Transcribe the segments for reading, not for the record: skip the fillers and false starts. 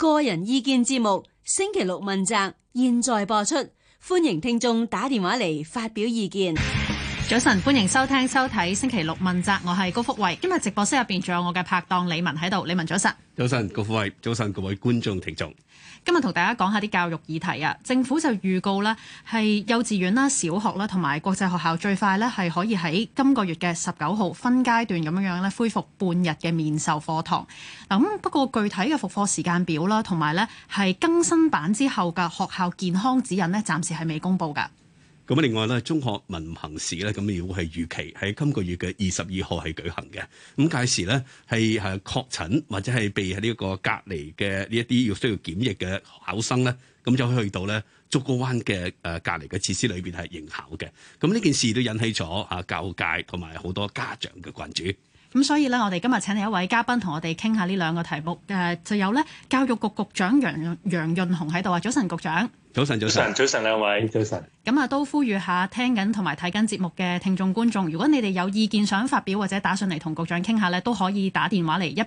個人意見節目星期六問責，現在播出，歡迎聽眾打電話嚟發表意見。 早晨，歡迎收睇星期六問責，我係高福慧。今日直播室入邊仲有我嘅拍檔李文喺度，李文早晨。 早晨，高福慧，早晨各位觀眾聽眾。 今日同大家講下啲教育議題啊。政府就預告呢係幼稚園啦、小學啦同埋國際學校最快呢係可以喺今個月嘅19號分階段咁樣呢恢復半日嘅面授課堂。咁不過具體嘅復課時間表啦，同埋呢係更新版之後嘅學校健康指引呢，暫時係未公布㗎。 咁另外咧，中學文憑試咧，咁亦會係預期喺今個月嘅22號係舉行嘅。咁屆時咧係確診或者係被呢個隔離嘅呢一啲需要檢疫嘅考生咧，咁就可以去到咧竹篙灣嘅隔離嘅設施裏邊係應考嘅。咁呢件事都引起咗教育界同埋好多家長嘅關注。 咁所以咧，我哋今日請嚟一位嘉賓同我哋傾下呢兩個題目。就有咧教育局局長楊潤雄喺度啊。早晨，局長。早晨，兩位早晨。 咁啊，都呼籲下聽緊同埋睇緊節目嘅聽眾觀眾，如果你哋有意見想發表或者打上嚟同局長傾下咧，都可以打電話嚟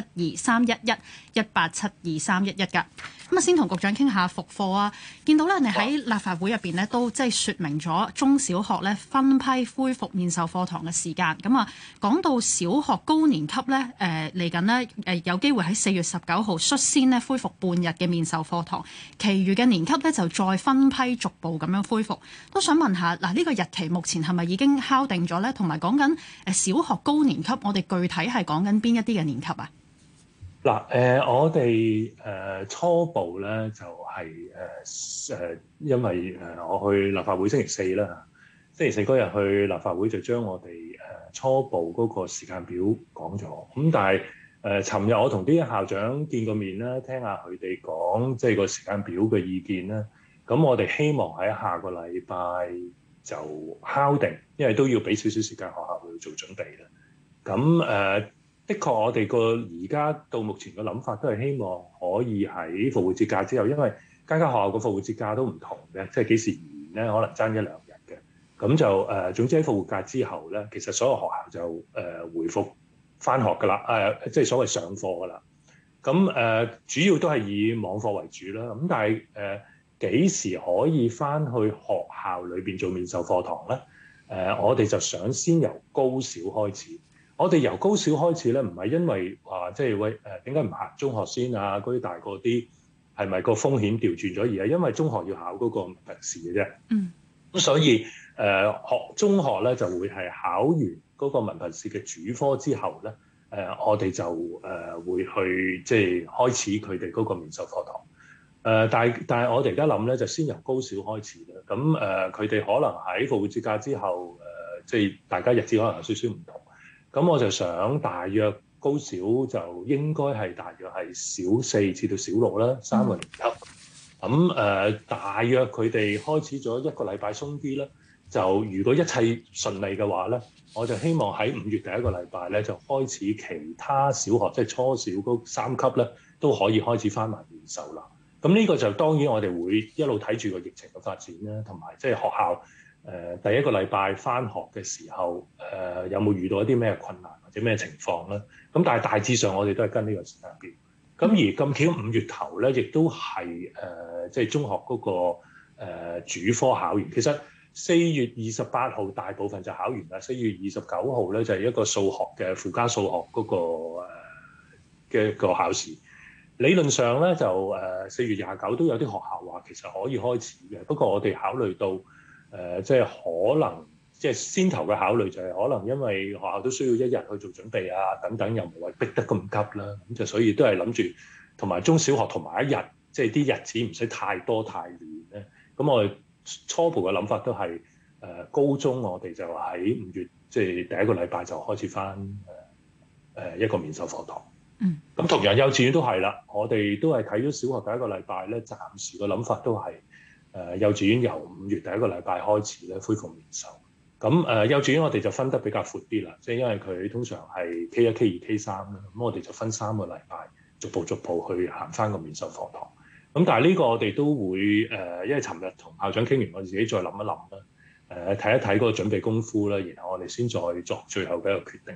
187231187231噶。咁啊，先同局長傾下復課啊。見到咧，你喺立法會入邊咧都即係説明咗中小學咧分批恢復面授課堂嘅時間。咁啊，講到小學高年級咧，嚟緊呢有機會喺4月19號率先咧恢復半日嘅面授課堂，其餘嘅年級咧就再分批逐步咁樣恢復。都想問下嗱，呢個日期目前係咪已經敲定咗咧？同埋講緊小學高年級，我哋具體係講緊邊一啲嘅年級啊？ 嗱，我哋初步咧就係因為我去立法會星期四啦，星期四嗰日去立法會就將我哋初步嗰個時間表講咗。咁但係尋日我同啲校長見過面啦，聽下佢哋講即係個時間表嘅意見啦。咁我哋希望喺下個禮拜就敲定，因為都要俾少少時間學校去做準備啦。咁的確我哋個而家到目前嘅諗法都係希望可以喺復活節假之後，因為間學校個復活節假都唔同嘅，即係幾時完咧，可能爭1-2日嘅。咁就總之喺復活假之後咧，其實所有學校就回復返學㗎啦，即係所謂上課㗎啦。咁主要都係以網課為主啦。咁但係幾時可以返去學校裏邊做面授課堂咧？我哋就想先由高小開始。我哋由高小開始咧，唔係因為話即係喂點解唔行中學先啊？嗰啲大個啲係咪個風險調轉咗？而係因為中學要考嗰個文憑試嘅啫。咁所以中學咧就會係考完嗰個文憑試嘅主科之後咧，我哋就會去即係開始佢哋嗰個面授課堂。但係我哋而家諗咧，就先由高小開始啦。咁佢哋可能喺復活節假之後，即係大家日子可能有少少唔同。咁我就想大約高小就應該係大約係小4至到小6啦，3個年級。咁大約佢哋開始咗1個禮拜鬆啲啦。就如果一切順利嘅話咧，我就希望喺5月第1個禮拜咧就開始其他小學，即係初小嗰3級咧都可以開始返埋面授啦。咁呢個就當然我哋會一路睇住個疫情嘅發展啦，同埋即係學校第1個禮拜返學嘅時候，有冇遇到一啲咩困難或者咩情況咧？咁但係大致上我哋都係跟呢個時間表。咁而咁巧5月頭咧，亦都係即係中學嗰個主科考完。其實4月28號大部分就考完啦，4月29號咧就係一個數學嘅附加數學嗰個嘅個考試。理論上咧就4月29都有啲學校話其實可以開始嘅，不過我哋考慮到即係可能即係先頭嘅考慮就係可能因為學校都需要1日去做準備啊等等，又唔係逼得咁急啦，咁就所以都係諗住同埋中小學同埋一日，即係啲日子唔使太多太亂咧。咁我哋初步嘅諗法都係高中我哋就喺5月即係第1個禮拜就開始返一個面授課堂。咁同樣幼稚園都係啦，我哋都係睇咗小學第1個禮拜咧，暫時個諗法都係幼稚園由5月第1個禮拜開始咧恢復面授。咁幼稚園我哋就分得比較闊啲啦，即係因為佢通常係 K1、K2、K3 啦，咁我哋就分3個禮拜逐步去行返個面授課堂。咁但係呢個我哋都會因為尋日同校長傾完，我哋自己再諗一諗啦，睇一睇嗰個準備功夫啦，然後我哋先再作最後嘅一個決定。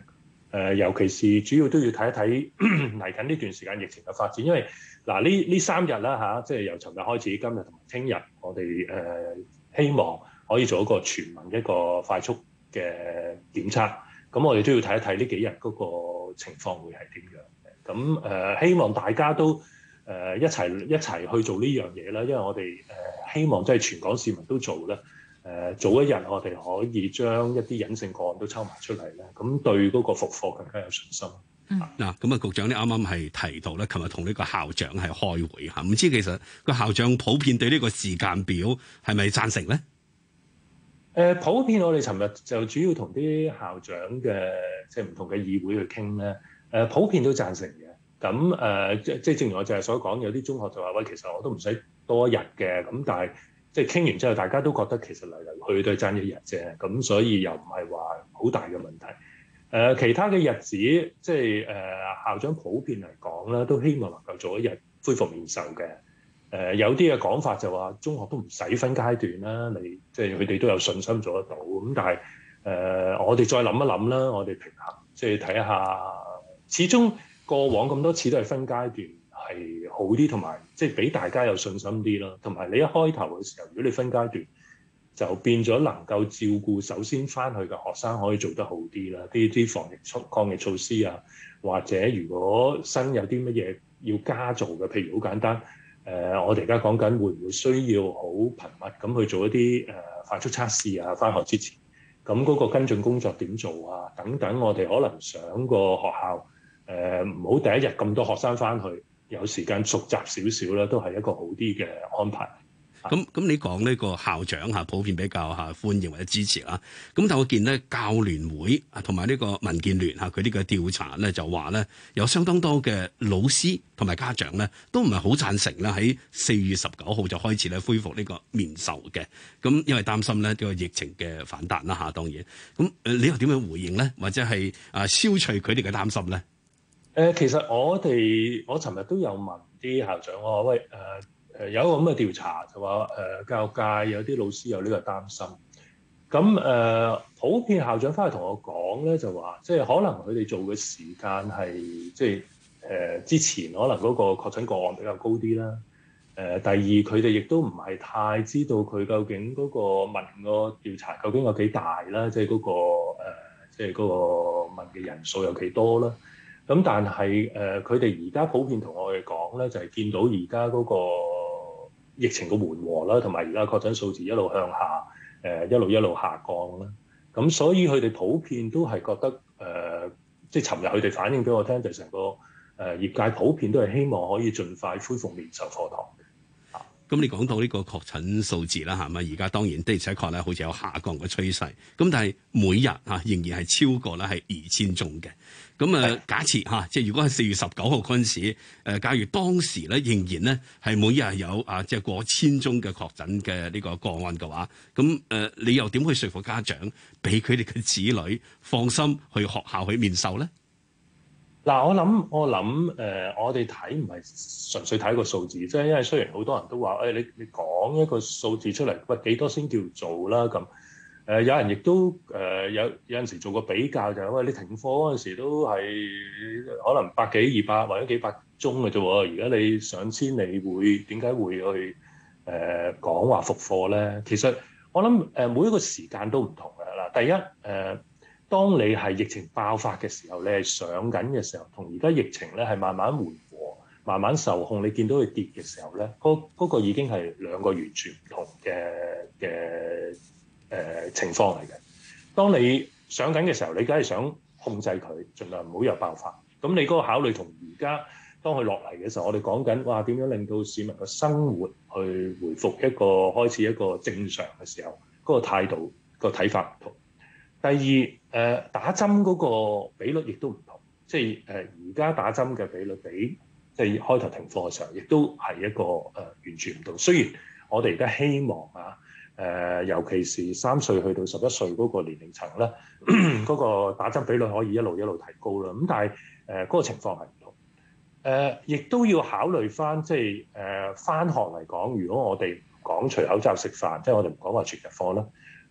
尤其是主要都要睇一睇嚟緊呢段時間疫情嘅發展，因為嗱呢3日啦嚇，即係由尋日開始，今日同埋聽日，我哋希望可以做一個全民一個快速嘅檢測，咁我哋都要睇一睇呢幾日嗰個情況會係點樣嘅。咁希望大家都一齊去做呢樣嘢啦，因為我哋希望即係全港市民都做啦。早一日我哋可以將一啲隱性個案都抽埋出嚟咧，咁對嗰個復課更加有信心。 嗱，咁啊，局長你啱啱係提到咧，琴日同呢個校長係開會嚇，唔知其實個校長普遍對呢個時間表係咪贊成咧？ 普遍我哋尋日就主要同啲校長嘅即係唔同嘅議會去傾咧，普遍都贊成嘅。咁即係正如我就係所講，有啲中學就話喂，其實我都唔使多一日嘅，咁但係即係傾完之後，大家都覺得其實嚟嚟去都係爭一日啫，咁所以又唔係話好大嘅問題。其他嘅日子，即係校長普遍嚟講咧，都希望能夠做一日恢復面授嘅。有啲嘅講法就話中學都唔使分階段啦，你即係佢哋都有信心做得到。咁但係我哋再諗一諗啦，我哋平衡即係睇下，始終過往咁多次都係分階段係好啲，同埋即係俾大家有信心啲咯。同埋你一開頭嘅時候，如果你分階段，就變咗能夠照顧首先翻去嘅學生可以做得好啲啦，啲防疫抗疫措施啊，或者如果新有啲乜嘢要加做嘅，譬如好簡單，我哋而家講緊會唔會需要好頻密咁去做一啲快速測試啊，翻學之前，咁嗰個跟進工作點做啊，等等，我哋可能想個學校唔好第一日咁多學生翻去，有時間熟習少少啦，都係一個好啲嘅安排。 咁你講呢個校長嚇普遍比較嚇歡迎或者支持啦。咁但我見咧教聯會啊同埋呢個民建聯嚇佢呢個調查咧就話咧有相當多嘅老師同埋家長咧都唔係好贊成咧喺4月19號就開始咧恢復呢個面授嘅。咁因為擔心咧呢個疫情嘅反彈啦嚇，當然。咁你又點樣回應咧？或者係消除佢哋嘅擔心咧？ 其實我尋日都有問啲校長，我話喂有一個咁嘅調查就話教育界有啲老師有呢個擔心，咁普遍校長翻去同我講咧就話，即係可能佢哋做嘅時間係即係之前可能嗰個確診個案比較高啲啦。第二佢哋亦都唔係太知道佢究竟嗰個問個調查究竟有幾大啦，即係嗰個問嘅人數有幾多啦。咁但係佢哋而家普遍同我哋講咧，就係見到而家嗰個疫情嘅緩和啦，同埋而家確診數字一路向下，一路下降啦。咁所以佢哋普遍都係覺得即係尋日佢哋反映俾我聽，就成個業界普遍都係希望可以盡快恢復面授課堂。 咁你講到呢個確診數字啦，係咪？而家當然的而且確咧，好似有下降嘅趨勢。咁但係每日仍然係超過咧係2000宗嘅。咁假設即係如果係4月19號嗰陣時，假如當時咧仍然咧係每日有即係過1000宗嘅確診嘅呢個個案嘅話，咁你又點去說服家長俾佢哋嘅子女放心去學校去面授咧？ 嗱，我諗我哋睇唔係純粹睇個數字，即係因為雖然好多人都話你講一個數字出嚟，喂幾多先叫做啦咁。有人亦都有陣時做個比較，就係喂你停課嗰陣時都係可能100幾200或者幾百宗嘅啫喎，而家你上千，你會點解會去講話復課咧？其實我諗每一個時間都唔同嘅嗱。第一當你係疫情爆發嘅時候，你係上緊嘅時候，同而家疫情咧係慢慢緩和、慢慢受控，你見到佢跌嘅時候咧，嗰個已經係兩個完全唔同嘅情況嚟嘅。當你上緊嘅時候，你梗係想控制佢，盡量唔好有爆發。咁你嗰個考慮同而家當佢落嚟嘅時候，我哋講緊哇點樣令到市民嘅生活去回復開始一個正常嘅時候，嗰個態度、個睇法唔同。第二打針嗰個比率亦都唔同，即係而家打針嘅比率比即係開頭停課嘅時候，亦都係一個完全唔同。雖然我哋而家希望尤其是3歲去到11歲嗰個年齡層咧，嗰個打針比率可以一路提高啦。咁但係嗰個情況係唔同。亦都要考慮翻，即係返學嚟講，如果我哋講除口罩食飯，即係我哋唔講話全日課啦。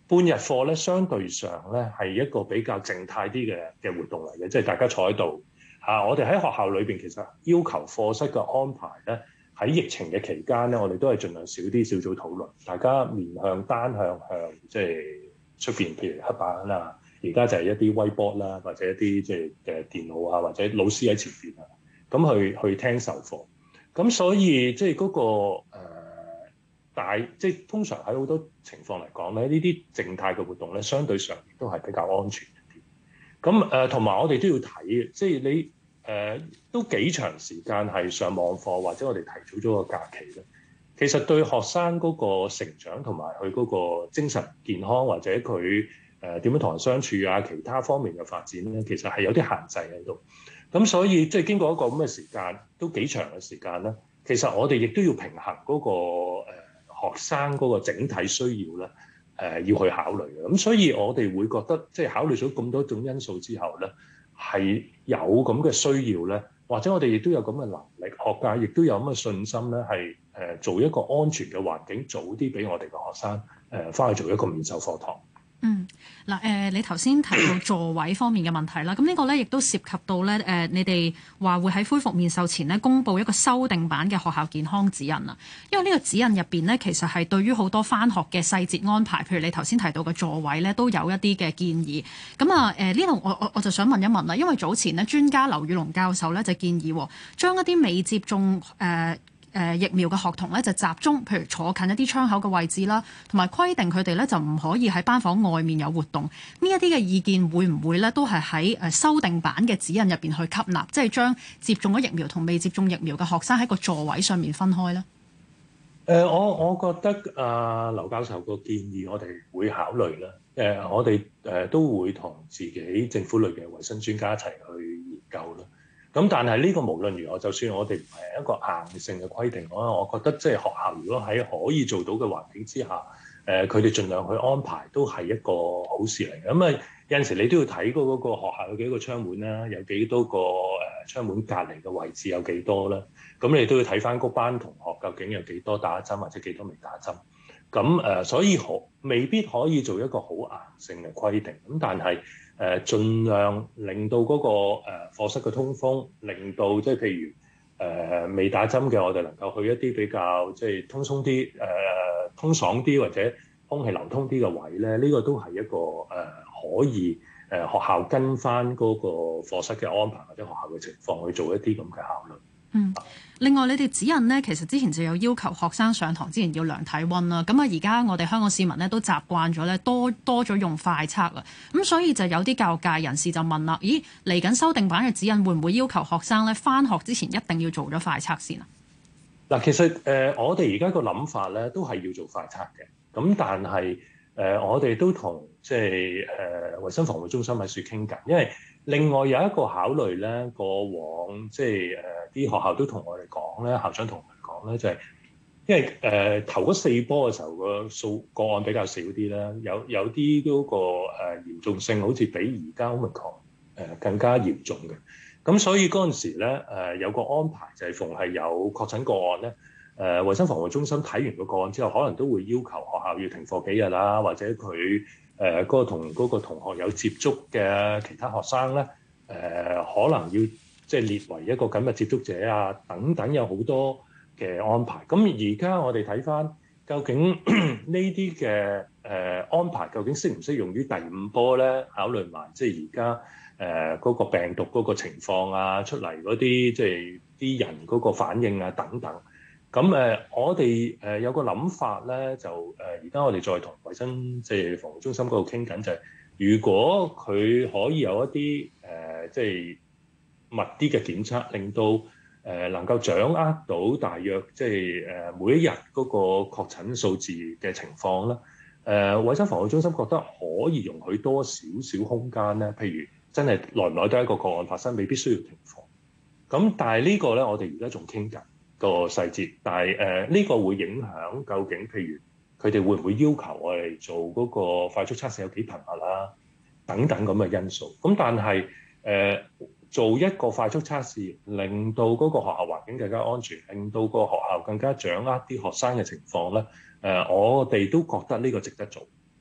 半日課咧，相對上咧係一個比較靜態啲嘅活動嚟嘅，即係大家坐喺度嚇。我哋喺學校裏邊其實要求課室嘅安排咧，喺疫情嘅期間咧，我哋都係盡量少啲小組討論，大家面向單向向即係出邊，譬如黑板啦，而家就係一啲威波啦，或者一啲即係嘅電腦啊，或者老師喺前邊啊，咁去聽授課。咁所以即係嗰個即係通常喺好多情況嚟講咧，呢啲靜態嘅活動咧，相對上亦都係比較安全一啲。咁同埋我哋都要睇，即係你都幾長時間係上網課，或者我哋提早咗個假期咧，其實對學生嗰個成長同埋佢嗰個精神健康，或者佢點樣同人相處啊，其他方面嘅發展咧，其實係有啲限制喺度。咁所以即係經過一個咁嘅時間，都幾長嘅時間咧，其實我哋亦都要平衡嗰個學生嗰個整體需要咧，要去考慮嘅。咁所以我哋會覺得，即係考慮咗咁多種因素之後咧，係有咁嘅需要咧，或者我哋亦都有咁嘅能力，學界亦都有咁嘅信心咧，係做一個安全嘅環境，早啲俾我哋嘅學生翻去做一個面授課堂。 嗱你頭先提到座位方面嘅問題啦，咁呢個咧亦都涉及到咧你哋話會喺恢復面授前咧公佈一個修訂版嘅學校健康指引啊，因為呢個指引入邊咧其實係對於好多返學嘅細節安排，譬如你頭先提到嘅座位咧都有一啲嘅建議。咁啊呢度我就想問一問啦，因為早前咧專家劉宇龍教授咧就建議將一啲未接種疫苗嘅學童咧就集中，譬如坐近一啲窗口嘅位置啦，同埋規定佢哋咧就唔可以喺班房外面有活動。呢一啲嘅意見會唔會咧都係喺修訂版嘅指引入邊去吸納，即係將接種咗疫苗同未接種疫苗嘅學生喺個座位上面分開咧？ 我覺得劉教授個建議我哋會考慮啦。我哋都會同自己政府類嘅衞生專家一齊去研究啦。咁但係呢個無論如何，就算我哋唔係一個硬性嘅規定，我覺得即係學校如果喺可以做到嘅環境之下，佢哋盡量去安排都係一個好事嚟嘅。咁有陣時你都要睇嗰個學校有幾個窗門啦，有幾多個窗門隔離嘅位置有幾多啦。咁你都要睇翻嗰班同學究竟有幾多打針或者幾多未打針。咁所以未必可以做一個好硬性嘅規定。咁但係盡量令到嗰個課室嘅通風，令到即係譬如未打針嘅，我哋能夠去一啲比較即係通鬆啲、通爽啲或者空氣流通啲嘅位咧，呢個都係一個可以學校跟翻嗰個課室嘅安排或者學校嘅情況去做一啲咁嘅考慮。 另外你哋指引呢，其實之前就有要求學生上堂之前要量體溫啦。咁啊，而家我哋香港市民呢都習慣咗咧多咗用快測啊。咁所以就有啲教育界人士就問啦：咦，嚟緊修訂版嘅指引會唔會要求學生咧返學之前一定要做咗快測先啊？ 嗱，其實我哋而家個諗法咧都係要做快測嘅。咁但係我哋都同即係衞生防護中心喺處傾緊，因為另外有一個考慮咧，過往即係啲學校都同我哋講咧，校長同我哋講咧，就係因為頭嗰4波嘅時候個案比較少啲啦，有啲嗰個嚴重性好似比而家 Omicron 更加嚴重嘅。咁所以嗰陣時咧有個安排就係逢係有確診個案咧，衞生防護中心睇完個案之後，可能都會要求學校要停課幾日啦，或者佢嗰個同嗰個同學有接觸嘅其他學生咧，可能要即係列為一個緊密接觸者啊，等等有好多嘅安排。咁而家我哋睇翻究竟呢啲嘅安排究竟適唔適用於第5波咧？考慮埋即係而家嗰個病毒嗰個情況啊，出嚟嗰啲即係啲人嗰個反應啊等等。咁我哋有個諗法咧，就而家我哋再同衞生即係防護中心嗰度傾緊，就係如果佢可以有一啲即係密啲嘅檢測，令到能夠掌握到大約即係每一日嗰個確診數字嘅情況啦。衞生防護中心覺得可以容許多少少空間咧，譬如真係耐唔耐都係一個個案發生，未必需要停課。咁但係呢個咧，我哋而家仲傾緊個細節，但係呢個會影響究竟，譬如佢哋會唔會要求我哋做嗰個快速測試有幾頻密啦，等等咁嘅因素。咁但係做一個快速測試，令到嗰個學校環境更加安全，令到個學校更加掌握啲學生嘅情況咧。我哋都覺得呢個值得做。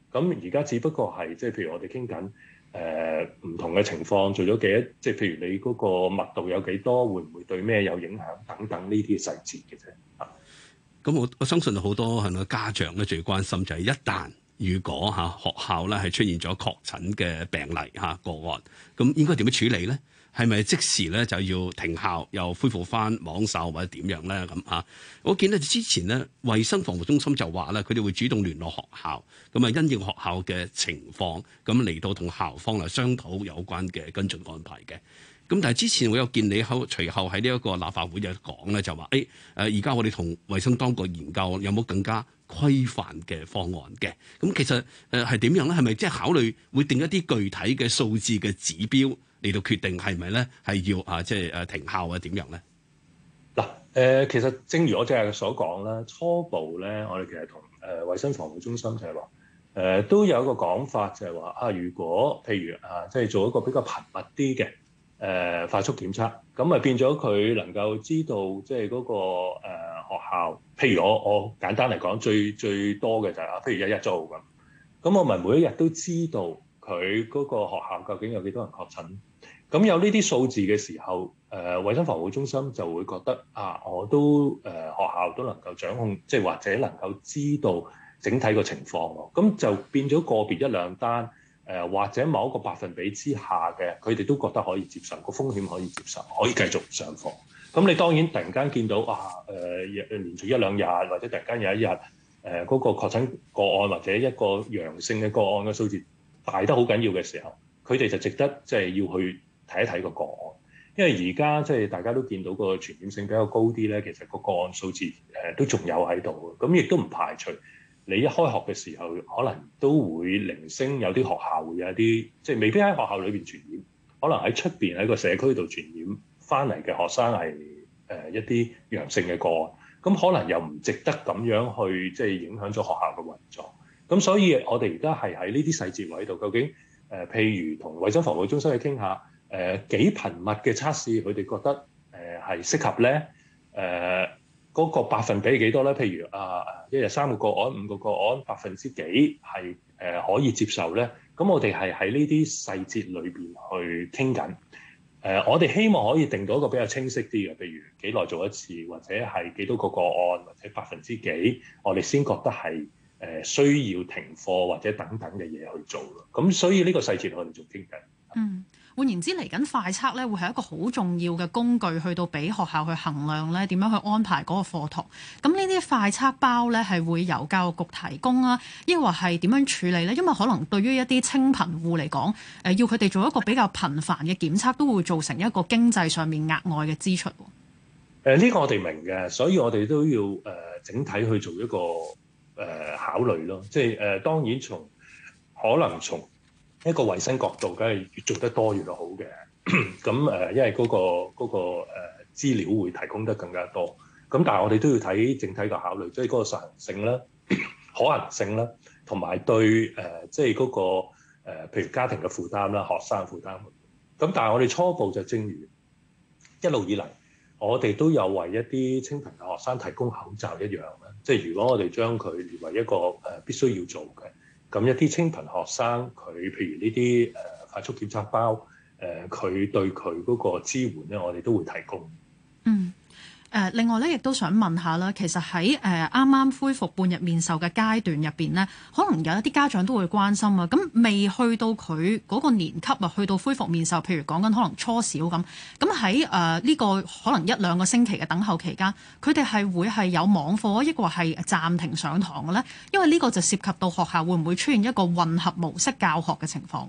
咁而家只不過係即係譬如我哋傾緊唔同嘅情況，做咗幾多，即係譬如你嗰個密度有幾多，會唔會對咩有影響等等呢啲細節嘅啫。 咁我相信好多係咪家長咧最關心就係一旦如果學校咧係出現咗確診嘅病例個案，咁應該點樣處理咧？係咪即時咧就要停校，又恢復翻網授或者點樣咧？咁我見到之前咧，衛生防護中心就話咧，佢哋會主動聯絡學校，咁啊因應學校嘅情況，咁嚟到同校方嚟商討有關嘅跟進安排嘅。咁但係之前我有見你隨後喺呢一個立法會就講咧，就話而家我哋同衛生當局研究有冇更加規範嘅方案嘅。咁其實係點樣咧？係咪即係考慮會定一啲具體嘅數字嘅指標嚟到決定係咪咧係要即係停校啊點樣咧？ 嗱其實正如我正係所講啦，初步咧我哋其實同衛生防護中心就係話都有一個講法就係話如果譬如即係做一個比較頻密啲嘅快速檢測，咁咪變咗佢能夠知道即係嗰個學校，譬如我簡單嚟講，最多嘅就係譬如一日做咁我咪每一日都知道佢嗰個學校究竟有幾多人確診。咁有呢啲數字嘅時候，衛生防護中心就會覺得我都學校都能夠掌控，即係或者能夠知道整體個情況喎。咁就變咗個別一兩單。或者某一個百分比之下嘅，佢哋都覺得可以接受，個風險可以接受，可以繼續上課。咁你當然突然間見到連續一兩日，或者突然間有一日嗰個確診個案或者一個陽性嘅個案嘅數字大得好緊要嘅時候，佢哋就值得即係要去睇一睇個個案。因為而家即係大家都見到個傳染性比較高啲咧，其實個個案數字都仲有喺度嘅，咁亦都唔排除。你一開學嘅時候，可能都會零星有啲學校會有一啲，即係未必喺學校裏邊傳染，可能喺出邊喺個社區度傳染翻嚟嘅學生係一啲陽性嘅個案，咁可能又唔值得咁樣去即係影響咗學校嘅運作。咁所以我哋而家係喺呢啲細節位度，究竟譬如同衛生防護中心去傾下幾頻密嘅測試，佢哋覺得係適合咧？嗰個百分比係幾多咧？譬如一日3個個案、5個個案，百分之幾係可以接受咧？咁我哋係喺呢啲細節裏邊去傾緊。我哋希望可以定到一個比較清晰啲嘅，譬如幾耐做一次，或者係幾多個個案，或者百分之幾，我哋先覺得係需要停課或者等等嘅嘢去做咯。咁所以呢個細節我哋仲傾緊。 換言之，嚟緊快測咧，會係一個好重要嘅工具，去到俾學校去衡量咧點樣去安排嗰個課堂。咁呢啲快測包咧係會由教育局提供啊，抑或係點樣處理咧？因為可能對於一啲清貧戶嚟講，要佢哋做一個比較頻繁嘅檢測，都會造成一個經濟上面額外嘅支出。 呢個我哋明嘅，所以我哋都要整體去做一個考慮咯。即係當然可能從一個衞生角度，梗係越做得多越好嘅。咁因為嗰個資料會提供得更加多。咁但係我哋都要睇整體嘅考慮，即係嗰個實行性啦、可行性啦，同埋對即係嗰個譬如家庭嘅負擔啦、學生負擔。咁但係我哋初步就正如一路以嚟，我哋都有為一啲清貧嘅學生提供口罩一樣啦。即係如果我哋將佢列為一個必須要做嘅。咁一啲清貧學生，佢譬如呢啲快速檢測包，佢對佢嗰個支援咧，我哋都會提供。 另外咧，亦都想問下啦，其實喺啱啱恢復半日面授嘅階段入邊呢，可能有一啲家長都會關心啊。咁未去到佢嗰個年級啊，去到恢復面授，譬如講緊可能初小咁。咁喺呢個可能1-2個星期嘅等候期間，佢哋係會係有網課，抑或係暫停上堂嘅咧？因為呢個就涉及到學校會唔會出現一個混合模式教學嘅情況。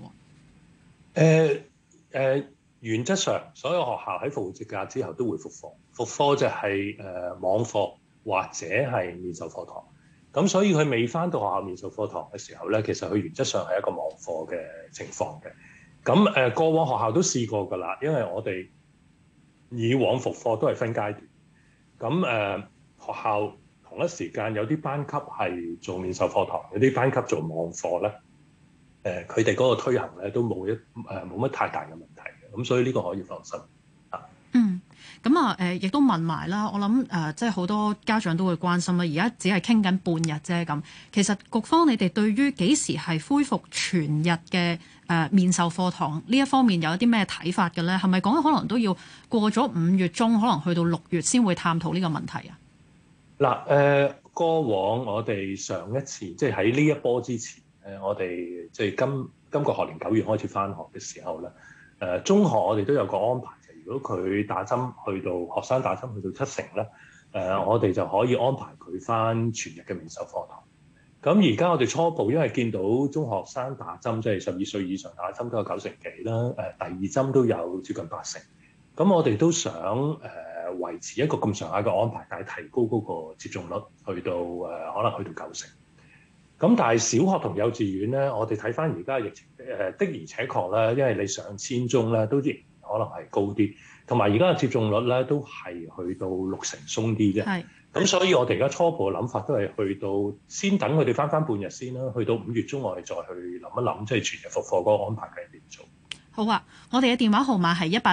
原則上，所有學校喺復活節假之後都會復課。復課就係網課或者係面授課堂。咁所以佢未返到學校面授課堂嘅時候咧，其實佢原則上係一個網課嘅情況嘅。咁過往學校都試過㗎啦，因為我哋以往復課都係分階段。咁學校同一時間有啲班級係做面授課堂，有啲班級做網課咧。佢哋嗰個推行咧都冇乜太大嘅問題嘅，咁所以呢個可以放心。 咁啊亦都問埋啦，我諗即係好多家長都會關心啦。而家只係傾緊半日啫咁，其實局方你哋對於幾時係恢復全日嘅面授課堂呢一方面有一啲咩睇法嘅咧？係咪講可能都要過咗5月中，可能去到6月先會探討呢個問題啊？ 嗱，過往我哋上一次即係喺呢一波之前，我哋即係今個學年9月開始返學嘅時候咧，中學我哋都有個安排，就如果佢打針去到學生打針去到7成咧，我哋就可以安排佢返全日嘅面授課堂。咁而家我哋初步因為見到中學生打針，即係12歲以上打針都有9成幾啦，第二針都有接近8成。咁我哋都想維持一個咁上下嘅安排，但係提高嗰個接種率去到可能去到9成。咁但係小學同幼稚園咧，我哋睇翻而家疫情的而且確咧，因為你上千宗咧都仍然可能係高啲，同埋而家嘅接種率咧都係去到6成鬆啲啫。係。咁所以我哋而家初步嘅諗法都係去到先等佢哋翻半日先啦，去到5月中我哋再去諗一諗，即係全日復課嗰個安排係點做。 好啊，我哋嘅電話號碼係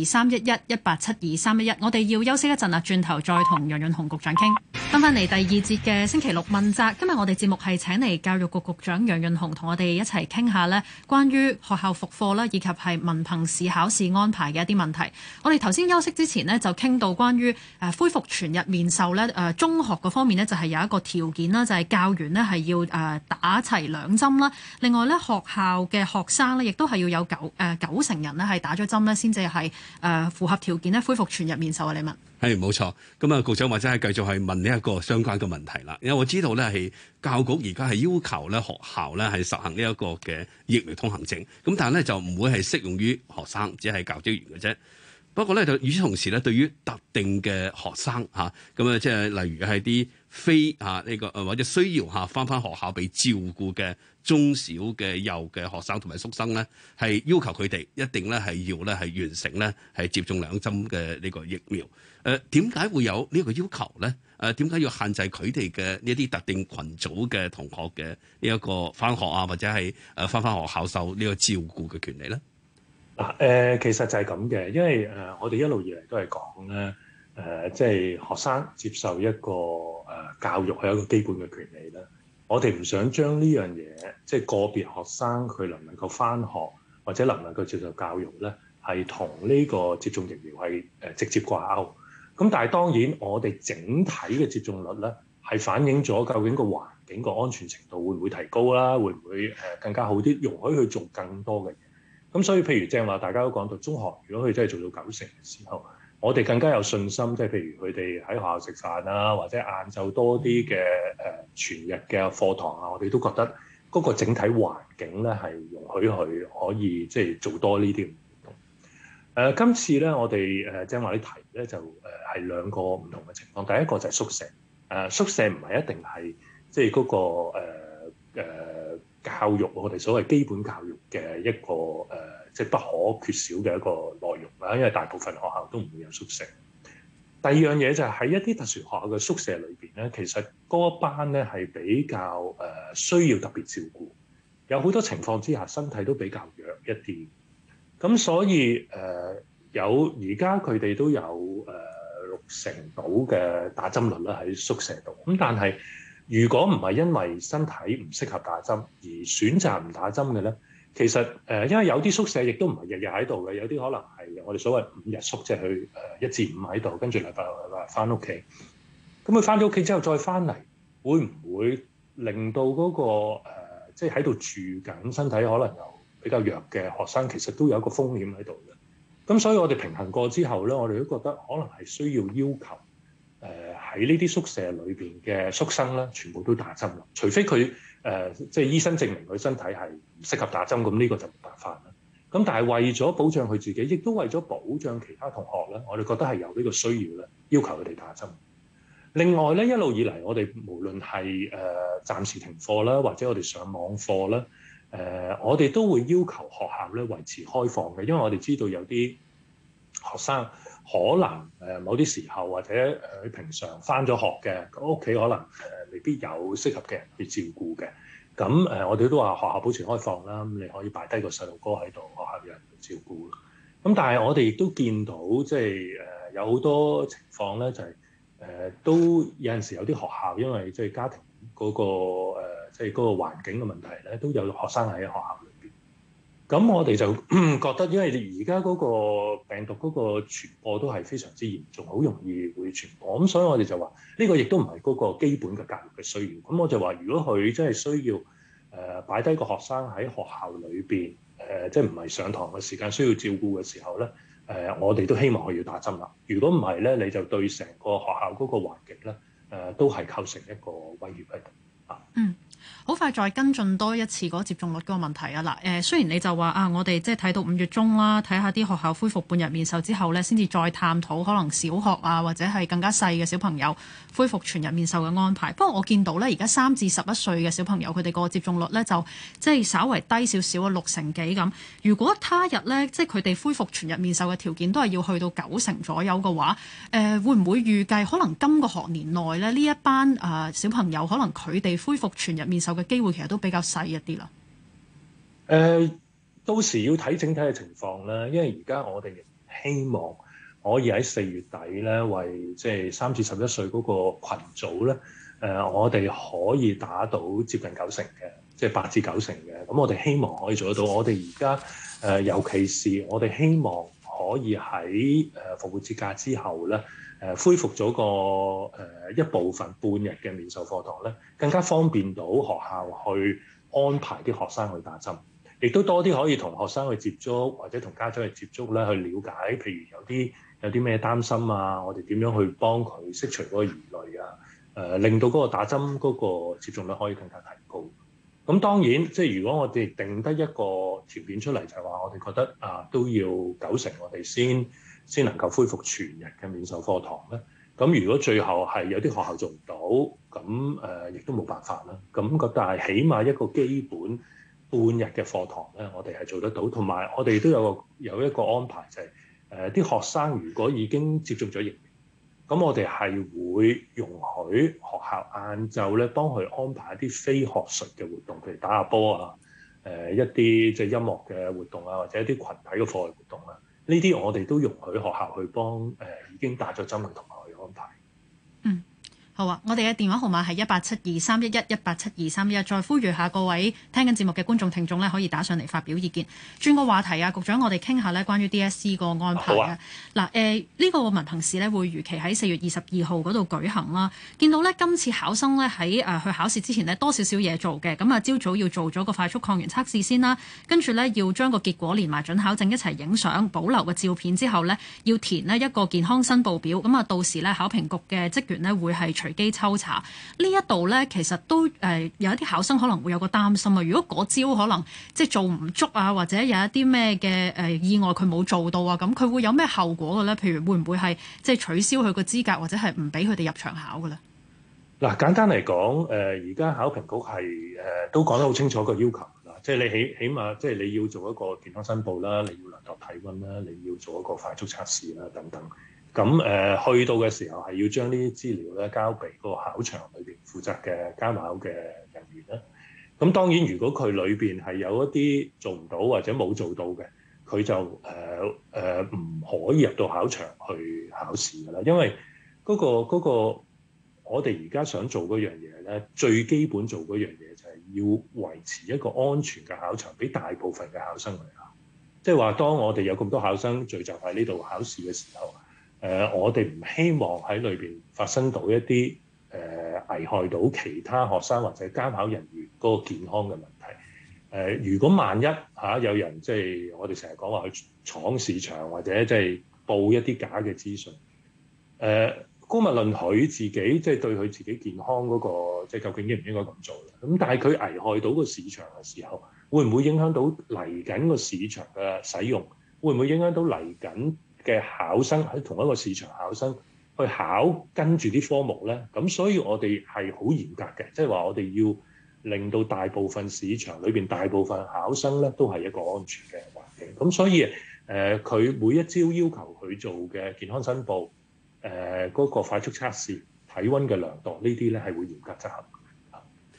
1872311，1872311。我哋要休息一陣啦，轉頭再同楊潤雄局長傾。翻嚟第2節嘅星期六問責，今日我哋節目係請嚟教育局局長楊潤雄同我哋一齊傾下呢關於學校復課啦，以及係文憑試考試安排嘅一啲問題。我哋頭先休息之前呢，就傾到關於恢復全日面授呢中學嗰方面呢，就係有一個條件啦，就係教員呢係要打齊2針啦。另外呢，學校嘅學生呢亦都係要有9成人呢係打咗針呢先至係符合條件呢恢復全日面授啊。李文係冇錯，咁啊局長或者係繼續係問呢一個相關嘅問題啦。因為我知道咧係教局而家係要求咧學校咧係實行呢一個嘅疫苗通行證，咁但係咧就唔會係適用於學生，只係教職員嘅啫。不過咧就與此同時咧，對於特定嘅學生嚇，咁啊即係例如係啲非呢個或者需要返學校被照顧嘅中小嘅幼嘅學生同埋宿生咧，係要求佢哋一定咧係要咧係完成咧係接種2針嘅呢個疫苗。點解會有呢個要求咧？點解要限制佢哋嘅呢啲特定群組嘅同學嘅呢一個返學或者係返學校受呢個照顧嘅權利咧？ 其實就係咁嘅，因為我哋一路以嚟都係講咧，即係學生接受一個教育係一個基本嘅權利啦。我哋唔想將呢樣嘢，即係個別學生佢能唔能夠返學或者能唔能夠接受教育咧，係同呢個接種疫苗係直接掛鈎。咁但係當然，我哋整體嘅接種率咧，係反映咗究竟個環境個安全程度會唔會提高啦？會唔會更加好啲，容許佢做更多嘅嘢？咁所以譬如正話，大家都講到中學，如果佢真係做到9成嘅時候，我哋更加有信心，即係譬如佢哋喺學校食飯啊，或者晏晝多啲嘅全日嘅課堂啊，我哋都覺得嗰個整體環境咧係容許佢可以即係做多呢啲活動。今次咧，我哋正話啲題咧就係2個唔同嘅情況。第一個就係宿舍，宿舍唔係一定係即係嗰個教育，我哋所謂基本教育嘅一個即係不可缺少嘅一個內容啦。因為大部分學校都唔會有宿舍。第二樣嘢就係喺一啲特殊學校嘅宿舍裏邊咧，其實嗰班咧係比較需要特別照顧，有好多情況之下身體都比較弱一啲。咁所以有而家佢哋都有6成到嘅打針率啦喺宿舍度。咁但係如果唔係因為身體唔適合打針而選擇唔打針嘅咧，其實因為有啲宿舍亦都唔係日日喺度嘅，有啲可能係我哋所謂5日宿，即係去1至5喺度，跟住禮拜翻屋企。咁佢翻咗屋企之後再翻嚟，會唔會令到嗰個即係喺度住緊身體可能有比較弱嘅學生，其實都有一個風險喺度嘅？咁所以我哋平衡過之後咧，我哋都覺得可能係需要要求喺呢啲宿舍裏邊嘅宿生咧，全部都打針啦。除非佢即係醫生證明佢身體係唔適合打針，咁呢個就冇辦法啦。咁但係為咗保障佢自己，亦都為咗保障其他同學咧，我哋覺得係有呢個需要咧，要求佢哋打針。另外咧，一路以嚟我哋無論係暫時停課啦，或者我哋上網課啦，我哋都會要求學校咧維持開放嘅，因為我哋知道有啲學生可能某啲時候或者佢平常返咗學嘅，屋企可能未必有適合嘅人去照顧嘅。咁我哋都話學校保持開放啦，咁你可以擺低個細路哥喺度，學校有人去照顧。咁但係我哋亦都見到即係有好多情況咧就係、都有陣時有啲學校因為即係家庭嗰、個即係嗰個環境嘅問題咧，都有學生喺學校裏邊。咁我哋就覺得，因為而家嗰個病毒嗰個傳播都係非常之嚴重，好容易會傳播。咁所以我哋就話呢個亦都唔係嗰個基本嘅教育嘅需要。咁我就話，如果佢真係需要擺低個學生喺學校裏邊即係唔係上堂嘅時間需要照顧嘅時候咧，我哋都希望佢要打針啦。如果唔係咧，你就對成個學校嗰個環境咧都係構成一個威脅喺度啊。 嗯。好快再跟進多一次嗰個接種率嗰個問題啊！嗱，雖然你就話啊，我哋即係睇到5月中啦，睇下啲學校恢復半日面授之後呢，先至再探討可能小學啊或者係更加細嘅小朋友恢復全日面授嘅安排。不過我見到呢，而家3至11歲嘅小朋友佢哋個接種率呢，就即係稍為低少少啊，6成幾咁。如果他日呢，即係佢哋恢復全日面授嘅條件都係要去到9成左右嘅話，會唔會預計可能今個學年內呢，呢一班小朋友可能佢哋恢復全日面授嘅機會其實都比較細一啲啦。 到時要睇整體嘅情況啦，因為而家我哋希望可以喺4月底咧，為即係3至11歲嗰個群組咧，我哋可以打到接近9成嘅，即係8至9成嘅。咁我哋希望可以做得到。我哋而家尤其是我哋希望可以喺復活節假之後咧，恢復咗個一部分半日嘅面授課堂咧，更加方便到學校去安排啲學生去打針，亦都多啲可以同學生去接觸，或者同家長去接觸咧，去了解，譬如有啲咩擔心啊，我哋點樣去幫佢釋除嗰個疑慮啊，令到嗰個打針嗰個接種率可以更加提高。咁當然，即係如果我哋定得一個條件出嚟，就係話我哋覺得都要9成，我哋先能夠恢復全日嘅面授課堂咧。咁如果最後係有啲學校做唔到，咁亦都冇辦法啦。咁但係起碼一個基本半日嘅課堂咧，我哋係做得到。同埋我哋都有一個安排，就係啲學生如果已經接種咗疫苗，咁我哋係會容許學校晏晝咧幫佢安排一啲非學術嘅活動，譬如打下波啊，一啲即係音樂嘅活動啊，或者一啲群體嘅課外活動啊。呢啲我哋都容許學校去幫已經打咗針嘅同學去安排。 嗯。好啊！我哋嘅電話號碼係187231187231，再呼籲下各位聽緊節目嘅觀眾聽眾咧，可以打上嚟發表意見。轉個話題啊，局長，我哋傾下咧關於 DSE 個安排啊。嗱，呢個文憑試咧會如期喺4月22號嗰度舉行啦。見到咧今次考生咧喺去考試之前呢，多少少嘢做嘅。咁啊，朝早要做咗個快速抗原測試先啦，跟住咧要將個結果連埋準考證一齊影相，保留個照片之後咧，要填呢一個健康申報表。咁啊，到時咧考評局嘅職員呢會係隨機抽查。呢一度咧，其實都有一啲考生可能會有個擔心啊。如果嗰朝可能即係做唔足啊，或者有一啲咩嘅意外佢冇做到啊，咁佢會有咩後果嘅咧？譬如會唔會係即係取消佢個資格，或者係唔俾佢哋入場考嘅咧？ 嗱，簡單嚟講，而家考評局係都講得好清楚個要求啦，即係你起碼即係你要做一個健康申報啦，你要量度體温啦，你要做一個快速測試啦等等。咁去到嘅時候係要將呢啲資料咧交俾個考場裏邊負責嘅監考嘅人員啦。咁當然，如果佢裏邊係有一啲做唔到或者冇做到嘅，佢就唔可以入到考場去考試㗎啦。因為嗰個我哋而家想做嗰樣嘢咧，最基本做嗰樣嘢就係要維持一個安全嘅考場，俾大部分嘅考生去考。即係話，當我哋有咁多考生聚集喺呢度考試嘅時候，我哋唔希望喺裏邊發生到一啲危害到其他學生或者監考人員嗰個健康嘅問題。如果萬一有人即係我哋成日講話去闖市場或者即係報一啲假嘅資訊，姑勿論佢自己即係對佢自己健康嗰個即係究竟應唔應該咁做啦。咁但係佢危害到個市場嘅時候，會唔會影響到嚟緊個市場嘅使用？會唔會影響到嚟緊嘅考生喺同一個市場考生去考跟住啲科目咧？咁所以我哋係好嚴格嘅，即係話我哋要令到大部分市場裏邊大部分考生咧都係一個安全嘅環境。咁所以佢每一朝要求佢做嘅健康申報，嗰個快速測試、體温嘅量度呢啲咧係會嚴格執行。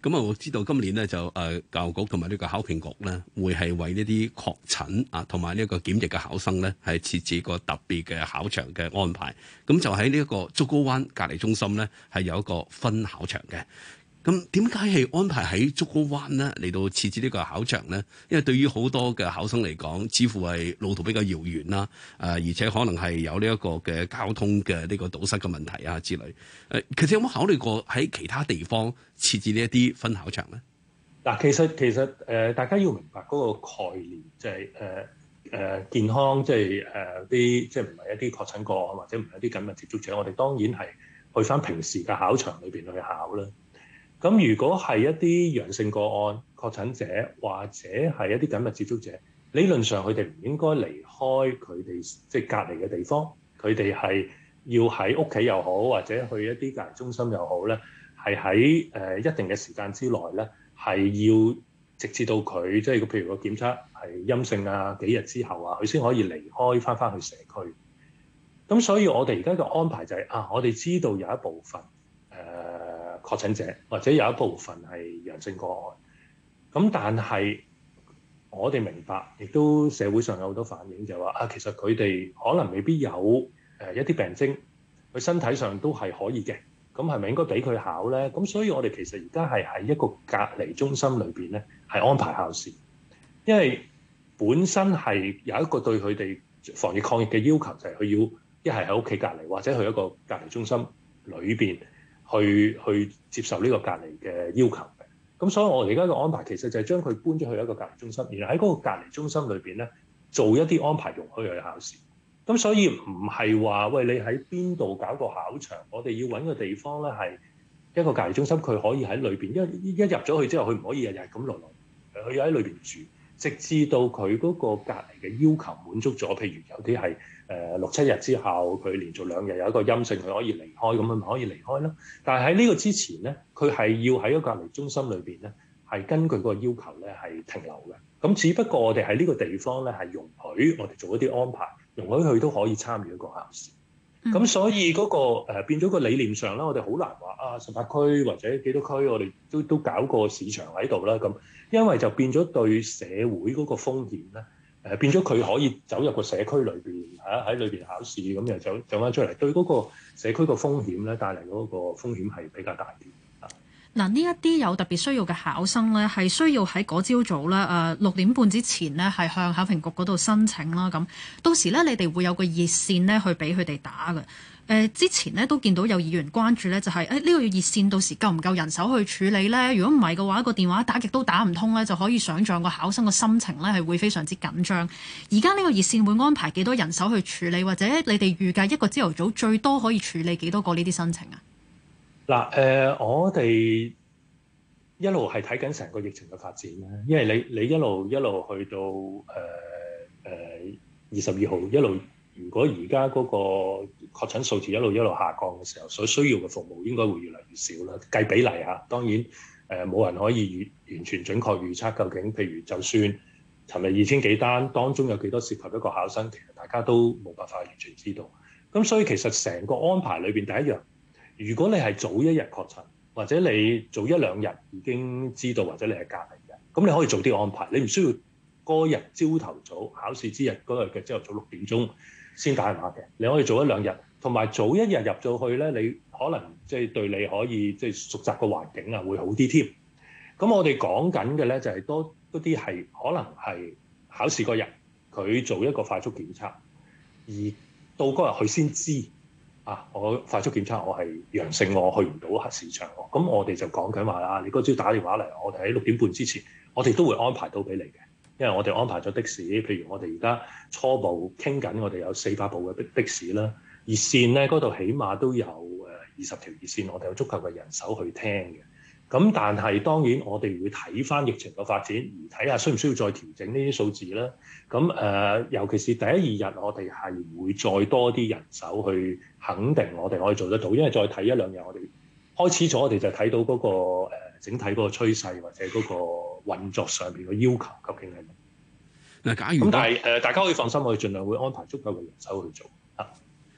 咁啊，我知道今年咧就教育局同埋呢個考評局咧，會係為呢啲確診啊同埋呢一個檢疫嘅考生咧，係設置個特別嘅考場嘅安排。咁就喺呢一個竹篙灣隔離中心咧，係有一個分考場嘅。咁點解係安排喺竹篙灣咧嚟到設置呢個考場咧？因為對於好多嘅考生嚟講，似乎係路途比較遙遠啦，而且可能係有呢一個嘅交通嘅呢個堵塞嘅問題啊之類。其實有冇考慮過喺其他地方設置呢一啲分考場咧？ 嗱，其實大家要明白嗰個概念，就係健康，即係啲即係唔係一啲確診個案或者唔係一啲緊密接觸者，我哋當然係去翻平時嘅考場裏邊去考啦。咁如果係一啲陽性個案確診者或者係一啲緊密接觸者，理論上佢哋唔應該離開佢哋即係隔離嘅地方，佢哋係要喺屋企又好，或者去一啲隔離中心又好咧，係喺一定嘅時間之內咧，係要直至到佢即係譬如個檢測係陰性啊，幾日之後啊，佢先可以離開翻去社區。咁所以我哋而家嘅安排就係我哋知道有一部分確診者或者有一部分係陽性個案，咁但係我哋明白，亦都社會上有好多反應就係話其實佢哋可能未必有一啲病徵，佢身體上都係可以嘅，咁係咪應該俾佢考咧？咁所以我哋其實而家係喺一個隔離中心裏邊咧，係安排考試，因為本身係有一個對佢哋防疫抗疫嘅要求，就係佢要一係喺屋企隔離，或者去一個隔離中心裏邊去接受呢個隔離嘅要求嘅。咁所以我哋而家嘅安排其實就係將佢搬咗去一個隔離中心，然後喺嗰個隔離中心裏邊咧做一啲安排，容許佢去考試。咁所以唔係話喂，你喺邊度搞個考場，我哋要揾個地方咧係一個隔離中心，佢可以喺裏邊，因為一入咗去之後，佢唔可以日日咁落來，佢要喺裏邊住，直至到佢嗰個隔離嘅要求滿足咗。譬如有啲係6-7日之後，佢連續2日有一個陰性，佢可以離開，咁佢咪可以離開咯。但係喺呢個之前咧，佢係要喺一個隔離中心裏邊咧，係根據個要求咧係停留嘅。咁只不過我哋喺呢個地方咧係容許我哋做一啲安排，容許佢都可以參與一個考試。咁所以嗰個變咗個理念上咧，我哋好難話18區或者幾多區，我哋都搞個市場喺度啦。咁因為就變咗對社會嗰個風險咧，變咗佢可以走入個社區裏邊喺裏邊考試，咁又走翻出嚟，對嗰個社區個風險咧帶嚟嗰個風險係比較大啲。 嗱，呢一啲有特別需要嘅考生咧，係需要喺嗰朝早咧6點半之前呢，係向考評局嗰度申請啦。咁到時咧，你哋會有個熱線呢去俾佢哋打嘅。之前呢，都見到有議員關注咧，就係呢個熱線到時夠唔夠人手去處理咧？如果唔係嘅話，個電話打極都打唔通咧，就可以想像個考生個心情咧係會非常之緊張。而家呢個熱線會安排幾多人手去處理，或者你哋預計一個朝頭早最多可以處理幾多個呢啲申請啊？ 嗱，我哋一路係睇緊成個疫情嘅發展啦，因為你一路去到22號一路，如果而家嗰個確診數字一路下降嘅時候，所需要嘅服務應該會越嚟越少啦。計比例嚇，當然冇人可以完全準確預測究竟，譬如就算尋日2000幾單，當中有幾多涉及一個考生，其實大家都冇辦法完全知道。咁所以其實成個安排裏邊，第一樣，如果你係早一日確診，或者你早1-2日已經知道，或者你係隔離嘅，咁你可以早啲安排，你唔需要嗰日朝頭早考試之日嗰日嘅朝頭早6點鐘先打電話嘅，你可以早1-2日，同埋早1日入咗去咧，你可能即係對你可以即係熟習個環境啊，會好啲添。咁我哋講緊嘅咧就係多嗰啲係可能係考試嗰日佢做一個快速檢測，而到嗰日佢先知。我快速檢測我係陽性，我去唔到市場，咁我哋就講緊話啦，你嗰朝打電話嚟，我哋喺6點半之前，我哋都會安排到俾你嘅，因為我哋安排咗的士，譬如我哋而家初步傾緊，我哋有400部嘅的士啦，熱線咧嗰度起碼都有20條熱線，我哋有足夠嘅人手去聽嘅。咁但係當然我哋會睇翻疫情嘅發展，而睇下需唔需要再調整呢啲數字啦。咁尤其是第1、2日，我哋係會再多啲人手去肯定我哋可以做得到，因為再睇1-2日，我哋開始咗，我哋就睇到嗰個整體嗰個趨勢或者嗰個運作上邊嘅要求究竟係乜。 嗱，假如咁但係大家可以放心，我哋盡量會安排足夠嘅人手去做。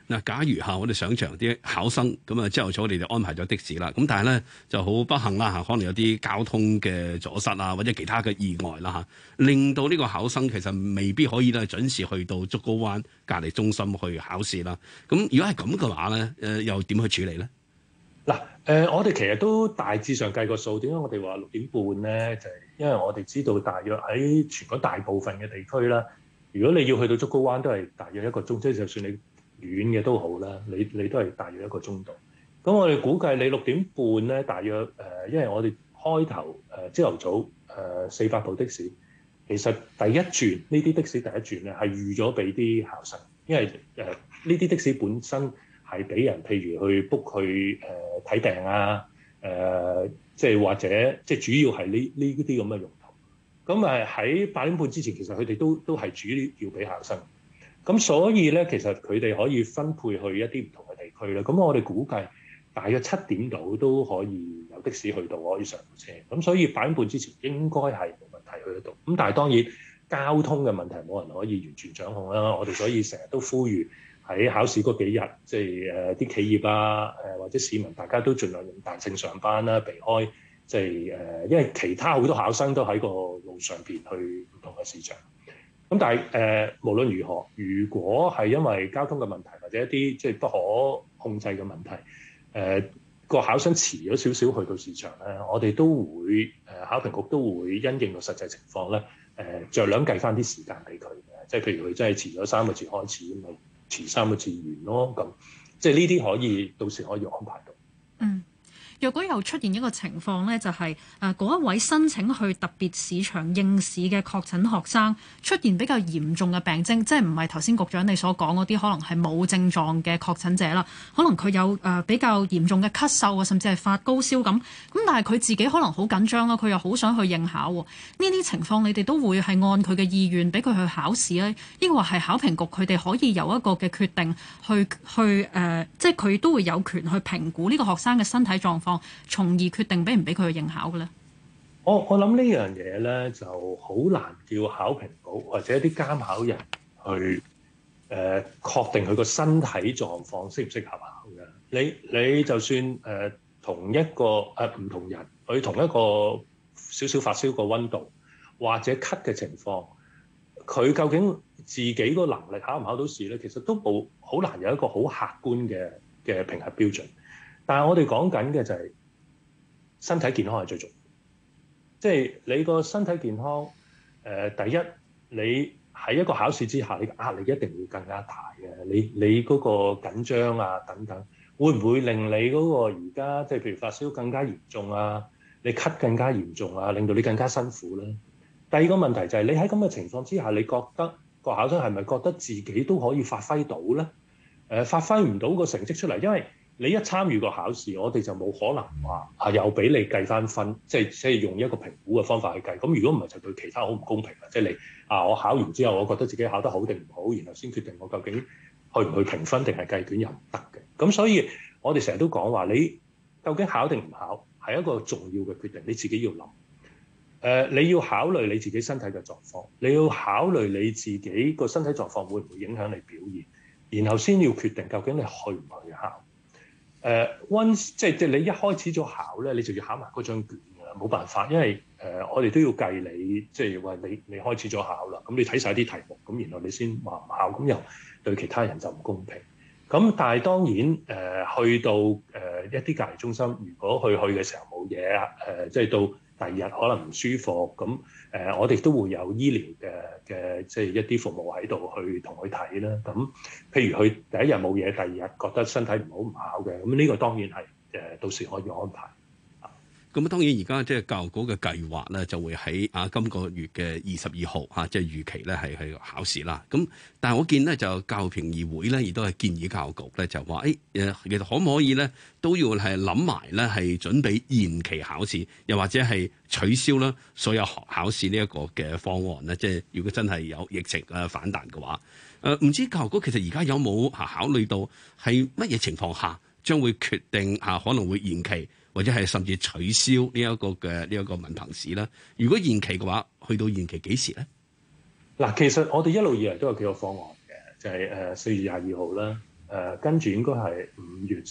嗱，假如我哋想象啲考生咁啊，朝頭早我哋就安排咗的士啦，咁但係咧就好不幸啦，可能有啲交通嘅阻塞啊，或者其他嘅意外啦，令到呢個考生其實未必可以咧準時去到竹篙灣隔離中心去考試啦。咁如果係咁嘅話咧，又點去處理咧？ 嗱，我哋其實都大致上計個數，點解我哋話6點半咧？就係因為我哋知道大約喺全港大部分嘅地區啦，如果你要去到竹篙灣都係大約1個鐘，即係就算你遠嘅都好啦，你都係大約1個鐘度。咁我哋估計你6點半咧，大約因為我哋開頭朝頭早400部的士，其實第一轉呢啲的士第一轉咧係預咗俾啲考生，因為呢啲的士本身係俾人譬如去 book 去睇病啊，即係或者即係主要係呢啲咁嘅用途。咁喺8點半之前，其實佢哋都係主要俾考生。咁所以咧，其實佢哋可以分配去一啲唔同嘅地區啦。咁我哋估計大約7點度都可以有的士去到，可以上到車。咁所以8點半之前應該係冇問題去得到。咁但係當然交通嘅問題冇人可以完全掌控啦。我哋所以成日都呼籲喺考試嗰幾日，即係啲企業啊，或者市民大家都盡量用彈性上班啦，避開即係因為其他好多考生都喺個路上邊去唔同嘅市場。咁但係無論如何，如果係因為交通嘅問題或者一啲即係不可控制嘅問題，個考生遲咗少少去到市場咧，我哋都會考評局都會因應個實際情況咧，酌量計翻啲時間俾佢嘅，即係譬如佢真係遲咗3個字開始，咁咪遲3個字完咯。咁即係呢啲可以到時可以安排到。 嗯。若果又出現一個情況呢，就係嗰一位申請去特別市場應試嘅確診學生出現比較嚴重嘅病徵，即係唔係頭先局長你所講嗰啲可能係冇症狀嘅確診者啦，可能佢有比較嚴重嘅咳嗽啊，甚至係發高燒咁，但係佢自己可能好緊張啦，佢又好想去應考喎。呢啲情況你哋都會係按佢嘅意願俾佢去考試咧，抑或係考評局佢哋可以有一個嘅決定去即係佢都會有權去評估呢個學生嘅身體狀況，從而決定俾唔俾佢去應考嘅咧？ 我諗呢樣嘢咧就好難叫考評局或者一啲監考人去確定佢個身體狀況適唔適合考嘅。你就算同一個唔同人，佢同一個少少發燒個溫度或者咳嘅情況，佢究竟自己個能力考唔考到試咧？其實都冇好難有一個好客觀嘅評核標準。但係我哋講緊嘅就係身體健康係最重要，即係你個身體健康第一，你喺一個考試之下，你嘅壓力一定會更加大嘅。你嗰個緊張啊等等，會唔會令你嗰個而家即係譬如發燒更加嚴重啊？你咳更加嚴重啊，令到你更加辛苦咧？第二個問題就係你喺咁嘅情況之下，你覺得個考生係咪覺得自己都可以發揮到咧？發揮唔到個成績出嚟，因為你一參與個考試，我哋就冇可能話又俾你計翻分，即係用一個評估嘅方法去計。咁如果唔係就對其他好唔公平啦。即係你我考完之後，我覺得自己考得好定唔好，然後先決定我究竟去唔去評分定係計卷又唔得嘅。咁所以我哋成日都講話，你究竟考定唔考係一個重要嘅決定，你自己要諗。你要考慮你自己身體嘅狀況，你要考慮你自己個身體狀況會唔會影響你表現，然後先要決定究竟你去唔去考。即係你一開始咗考咧，你就要考埋嗰張卷㗎啦，冇辦法，因為我哋都要計你，即係話你開始咗考啦，咁你睇晒啲題目，咁然後你先話唔考，咁又對其他人就唔公平。咁但係當然去到一啲隔離中心，如果去嘅時候冇嘢即係到第二日可能唔舒服，咁我哋都會有醫療嘅即係一啲服務喺度去同佢睇啦。咁譬如佢第一日冇嘢，第二日覺得身體唔好唔考嘅，咁呢個當然係到時可以安排。 咁當然而家即係教育局嘅計劃咧，就會喺今個月嘅22號即係預期咧係去考試啦。咁但係我見咧就教育評議會咧，亦都係建議教育局咧就話其實可唔可以咧都要係諗埋咧係準備延期考試，又或者係取消啦所有考試呢一個嘅方案咧。即係如果真係有疫情反彈嘅話，唔知教育局其實而家有冇考慮到係乜嘢情況下將會決定可能會延期，或者係甚至取消呢一個文憑試咧？如果延期嘅話，去到延期幾時咧？ 嗱，其實我哋一路以嚟都有幾個方案嘅，就係4月22號啦， 跟住應該係5月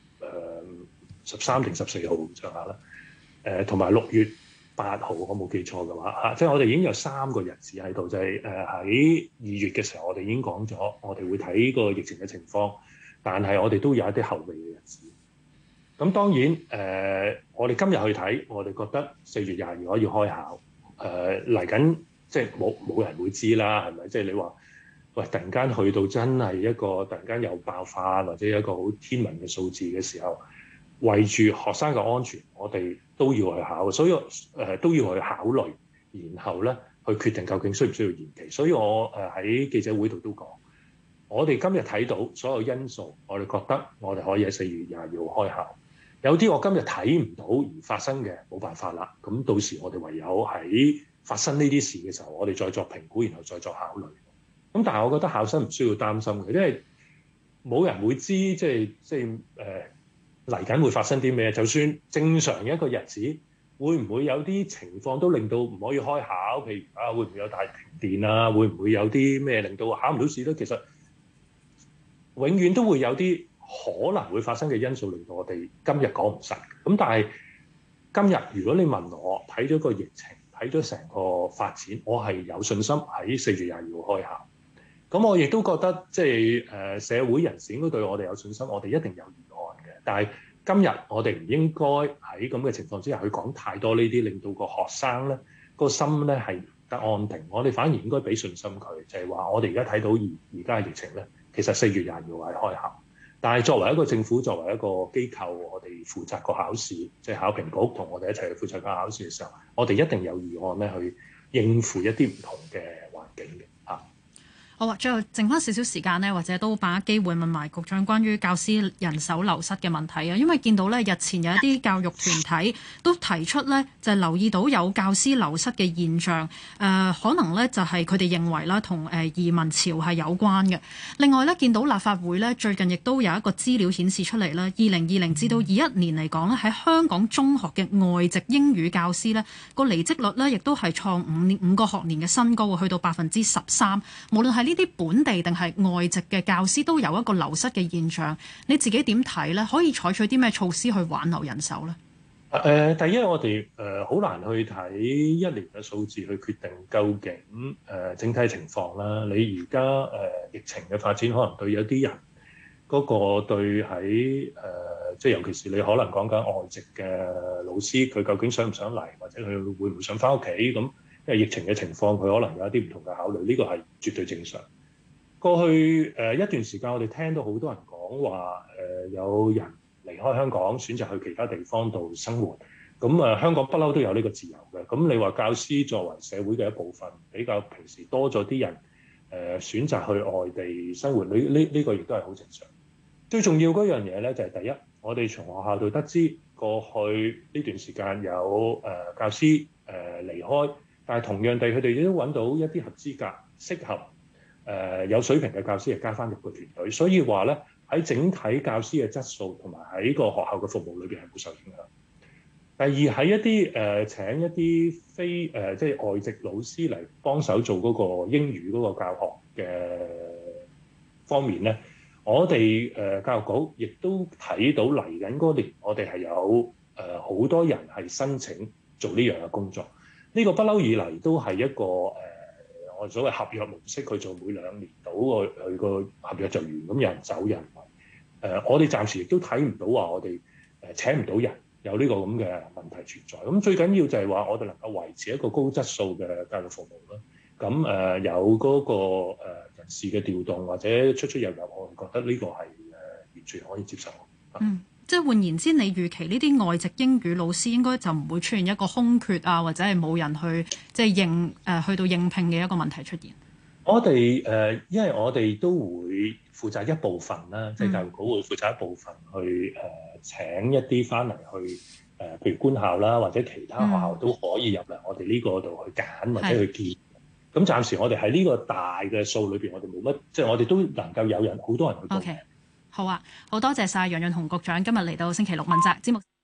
13定14號上下啦，同埋6月8號，我冇記錯嘅話即係我哋已經有3個日子喺度，就係喺2月嘅時候，我哋已經講咗，我哋會睇個疫情嘅情況，但係我哋都有一啲後備嘅日子。咁當然我哋今日去睇，我哋覺得4月22號要開考，嚟緊即係冇人會知啦，係咪？即係你話喂，突然間去到真係一個突然間有爆發或者一個好天文嘅數字嘅時候，為住學生嘅安全，我哋都要去考，所以都要去考慮，然後咧去決定究竟需唔需要延期。所以我喺記者會度都講，我哋今日睇到所有因素，我哋覺得我哋可以喺4月22號開考。有啲我今日睇唔到而發生嘅，冇辦法啦。咁到時我哋唯有喺發生呢啲事嘅時候，我哋再作評估，然後再作考慮。咁但係我覺得考生唔需要擔心嘅，因為冇人會知即係嚟緊會發生啲咩。就算正常嘅一個日子，會唔會有啲情況都令到唔可以開考？譬如會唔會有大停電啊？會唔會有啲咩令到考唔到試咧？其實永遠都會有啲可能會發生嘅因素，令到我哋今日講唔實。咁但係今日如果你問我睇咗個疫情，睇咗成個發展，我係有信心喺4月22號開考。咁我亦都覺得即係社會人士應該對我哋有信心，我哋一定有預案嘅。但係今日我哋唔應該喺咁嘅情況之下去講太多呢啲，令到個學生咧個心咧係得安定。我哋反而應該俾信心佢，就係話我哋而家睇到而家嘅疫情咧，其實4月22號係開考。但係作為一個政府，作為一個機構，我哋負責個考試，即係考評局同我哋一齊去負責個考試嘅時候，我哋一定有預案咧去應付一啲唔同嘅環境嘅。 好啊，最後剩翻少少時間呢，或者都把握機會問埋局長關於教師人手流失嘅問題啊。因為見到呢，日前有一啲教育團體都提出呢，就係留意到有教師流失嘅現象，可能呢就係佢哋認為啦，同移民潮係有關嘅。另外呢，見到立法會呢，最近亦都有一個資料顯示出嚟啦，2020至到21年嚟講呢，喺香港中學嘅外籍英語教師呢，個離職率呢，亦都係創5個學年嘅新高，去到13%。無論係呢啲本地定係外籍嘅教師都有一個流失嘅現象，你自己點睇呢？可以採取啲咩措施去挽留人手呢？ 第一我哋好難去睇一年嘅數字去決定究竟整體情況啦。你而家疫情嘅發展，可能對有啲人嗰個對喺即係尤其是你可能講緊外籍嘅老師，佢究竟想唔想嚟，或者佢會唔會想翻屋企咁？因為疫情嘅情況，佢可能有一啲唔同嘅考慮，呢個係絕對正常。過去一段時間，我哋聽到好多人講話有人離開香港，選擇去其他地方度生活。咁香港不嬲都有呢個自由嘅。咁你話教師作為社會嘅一部分，比較平時多咗啲人選擇去外地生活，呢個亦都係好正常。最重要嗰樣嘢咧，就係第一，我哋從學校度得知過去呢段時間有教師離開。但係同樣地，佢哋亦都揾到一啲合資格、適合、有水平嘅教師，係加翻入個團隊。所以話咧，喺整體教師嘅質素同埋喺個學校嘅服務裏邊係冇受影響。第二，喺一啲請一啲非即係外籍老師嚟幫手做嗰個英語嗰個教學嘅方面咧，我哋教育局亦都睇到嚟緊嗰年，我哋係有好多人係申請做呢樣嘅工作。呢個不嬲以嚟都係一個我所謂合約模式，佢做每2年到佢個合約就完，咁有人走有人嚟。我哋暫時亦都睇唔到話我哋請唔到人有呢個咁嘅問題存在。咁最緊要就係話我哋能夠維持一個高質素嘅教育服務啦。咁有嗰個人事嘅調動或者出入，我覺得呢個係完全可以接受。 即係換言之，你預期呢啲外籍英語老師應該就唔會出現一個空缺啊，或者係冇人去即係去到應聘嘅一個問題出現。我哋因為我哋都會負責一部分啦，即係教育局會負責一部分去請一啲翻嚟去譬如官校啦，或者其他學校都可以入嚟我哋呢個度去揀或者去見。咁暫時我哋喺呢個大嘅數裏邊，我哋冇乜，即係我哋都能夠有人好多人去報名。 好啊，好多謝晒楊潤雄局長今日嚟到星期六問責節目。